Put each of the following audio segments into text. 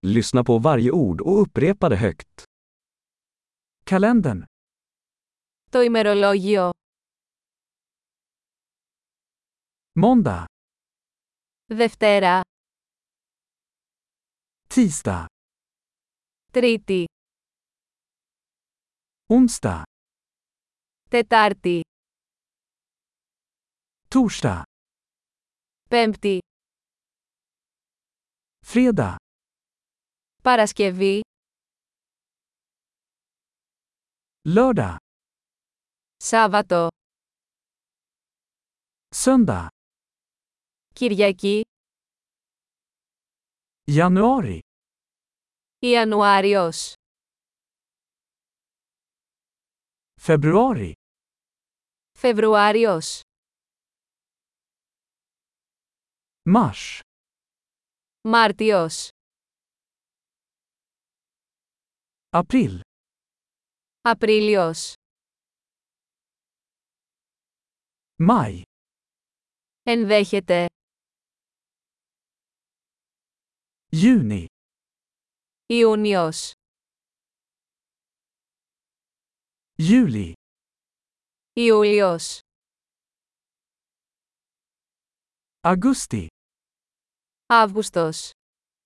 Lyssna på varje ord och upprepa det högt. Kalendern. Το ημερολόγιο. Måndag. Δευτέρα. Tisdag. Τρίτη. Onsdag. Τετάρτη. Torsdag. Πέμπτη. Fredag. Παρασκευή. Lördag. Σάββατο. Söndag. Κυριακή. Januari. Ιανουάριος. Februari. Φεβρουάριος. Mars. Μάρτιος. April. Απρίλιος. Maj. Ενδέχεται. Juni. Ιούνιος. Juli. Ιούλιος. Augusti. Αύγουστος.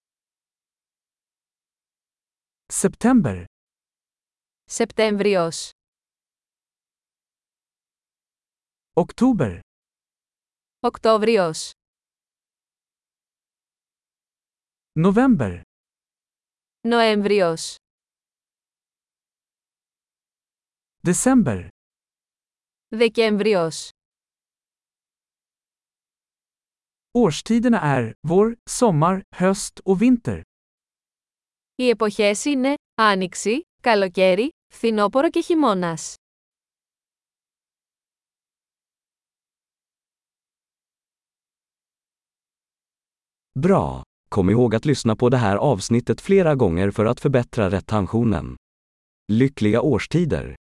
September. Σεπτέμβριος. Oktober. Οκτώβριος. November. Νοέμβριος. December. Δεκέμβριος. Årstiderna är vår, sommar, höst och vinter. Οι εποχές είναι άνοιξη, καλοκαίρι, φθινόπωρο και χειμώνας. Bra! Kom ihåg att lyssna på det här avsnittet flera gånger för att förbättra retentionen. Lyckliga årstider!